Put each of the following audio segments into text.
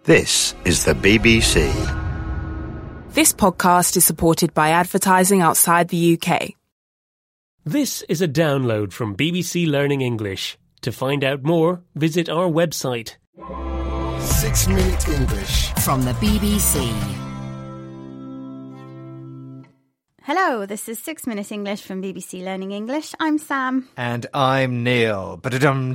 This is the BBC. This podcast is supported by advertising outside the UK. This is a download from BBC Learning English. To find out more, visit our website. 6 Minute English from the BBC. Hello, this is 6 Minute English from BBC Learning English. I'm Sam. And I'm Neil. What's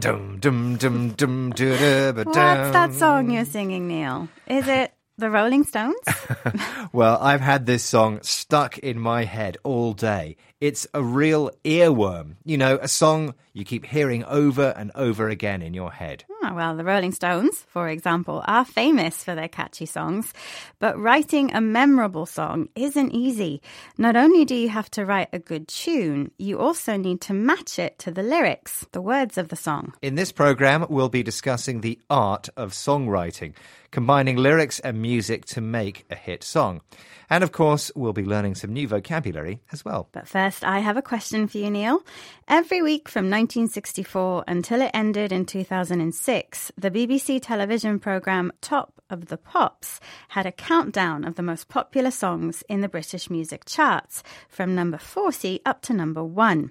that song you're singing, Neil? Is it The Rolling Stones? Well, I've had this song stuck in my head all day. It's a real earworm. You know, a song you keep hearing over and over again in your head. Oh, well, the Rolling Stones, for example, are famous for their catchy songs. But writing a memorable song isn't easy. Not only do you have to write a good tune, you also need to match it to the lyrics, the words of the song. In this programme, we'll be discussing the art of songwriting, combining lyrics and music to make a hit song. And of course, we'll be learning some new vocabulary as well. But first, I have a question for you, Neil. Every week from 1964 until it ended in 2006, the BBC television programme Top of the Pops had a countdown of the most popular songs in the British music charts, from number 40 up to number 1.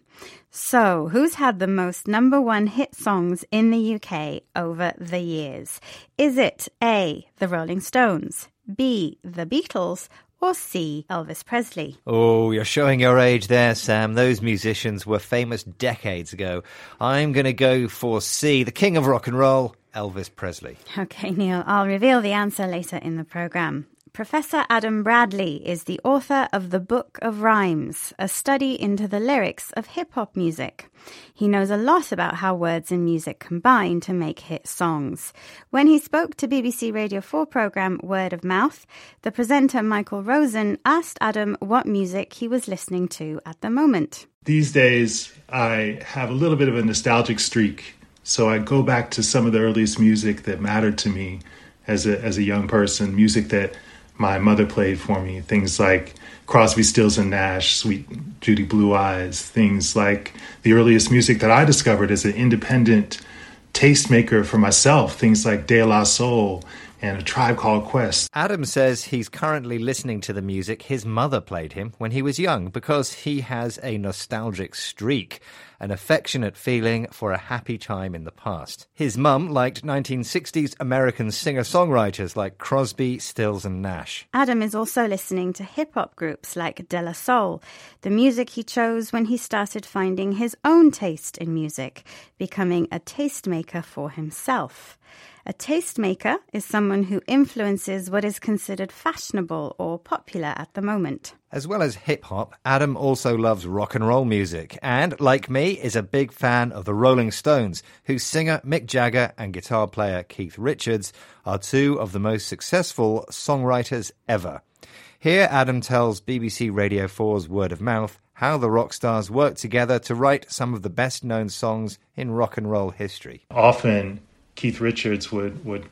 So, who's had the most number 1 hit songs in the UK over the years? Is it A, the Rolling Stones, B, the Beatles, or C, Elvis Presley? Oh, you're showing your age there, Sam. Those musicians were famous decades ago. I'm going to go for C, the king of rock and roll, Elvis Presley. Okay, Neil, I'll reveal the answer later in the programme. Professor Adam Bradley is the author of The Book of Rhymes, a study into the lyrics of hip-hop music. He knows a lot about how words and music combine to make hit songs. When he spoke to BBC Radio 4 programme Word of Mouth, the presenter Michael Rosen asked Adam what music he was listening to at the moment. These days, I have a little bit of a nostalgic streak, so I go back to some of the earliest music that mattered to me as a young person, music that my mother played for me, things like Crosby, Stills and Nash, Sweet Judy Blue Eyes, things like the earliest music that I discovered as an independent tastemaker for myself, things like De La Soul and A Tribe Called Quest. Adam says he's currently listening to the music his mother played him when he was young because he has a nostalgic streak, an affectionate feeling for a happy time in the past. His mum liked 1960s American singer-songwriters like Crosby, Stills and Nash. Adam is also listening to hip-hop groups like De La Soul, the music he chose when he started finding his own taste in music, becoming a tastemaker for himself. A tastemaker is someone who influences what is considered fashionable or popular at the moment. As well as hip-hop, Adam also loves rock and roll music and, like me, is a big fan of the Rolling Stones, whose singer Mick Jagger and guitar player Keith Richards are two of the most successful songwriters ever. Here, Adam tells BBC Radio 4's Word of Mouth how the rock stars worked together to write some of the best-known songs in rock and roll history. Often, Keith Richards would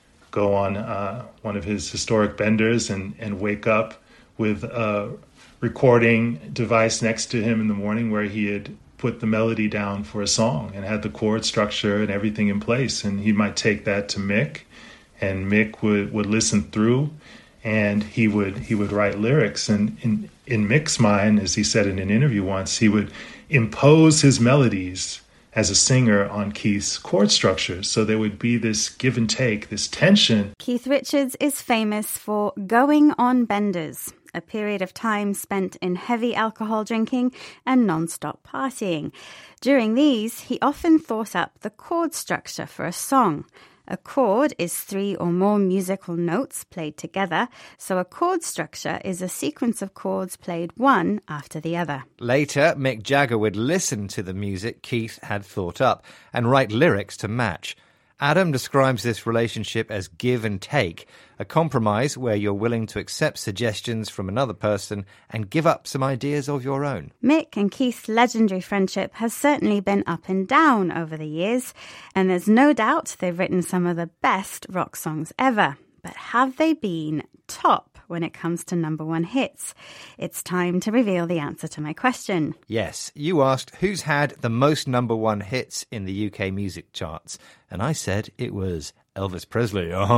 go on one of his historic benders and wake up with a recording device next to him in the morning where he had put the melody down for a song and had the chord structure and everything in place. And he might take that to Mick, and Mick would listen through, and he would write lyrics. And in Mick's mind, as he said in an interview once, he would impose his melodies as a singer on Keith's chord structures. So there would be this give and take, this tension. Keith Richards is famous for going on benders, a period of time spent in heavy alcohol drinking and non-stop partying. During these, he often thought up the chord structure for a song. A chord is 3 or more musical notes played together, so a chord structure is a sequence of chords played one after the other. Later, Mick Jagger would listen to the music Keith had thought up and write lyrics to match. Adam describes this relationship as give and take, a compromise where you're willing to accept suggestions from another person and give up some ideas of your own. Mick and Keith's legendary friendship has certainly been up and down over the years, and there's no doubt they've written some of the best rock songs ever. But have they been top when it comes to number one hits? It's time to reveal the answer to my question. Yes, you asked who's had the most number one hits in the UK music charts, and I said it was Elvis Presley.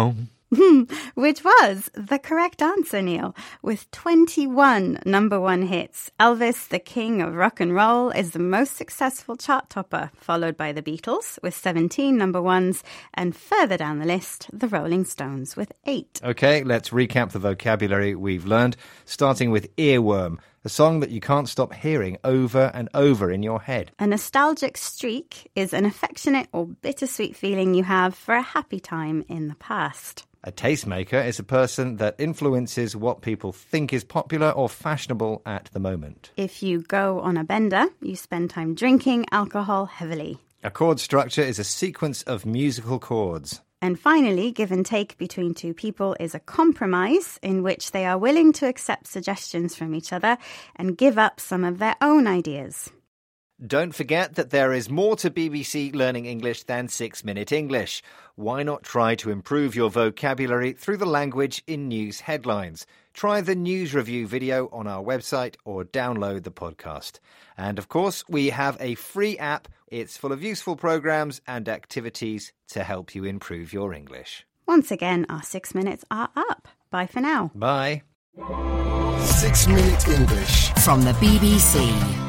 Which was the correct answer, Neil. With 21 number one hits, Elvis, the king of rock and roll, is the most successful chart topper, followed by the Beatles with 17 number ones, and further down the list, the Rolling Stones with 8. Okay, let's recap the vocabulary we've learned, starting with earworm, a song that you can't stop hearing over and over in your head. A nostalgic streak is an affectionate or bittersweet feeling you have for a happy time in the past. A tastemaker is a person that influences what people think is popular or fashionable at the moment. If you go on a bender, you spend time drinking alcohol heavily. A chord structure is a sequence of musical chords. And finally, give and take between two people is a compromise in which they are willing to accept suggestions from each other and give up some of their own ideas. Don't forget that there is more to BBC Learning English than 6 Minute English. Why not try to improve your vocabulary through the language in news headlines? Try the news review video on our website or download the podcast. And of course, we have a free app. It's full of useful programs and activities to help you improve your English. Once again, our 6 minutes are up. Bye for now. Bye. 6 Minute English from the BBC.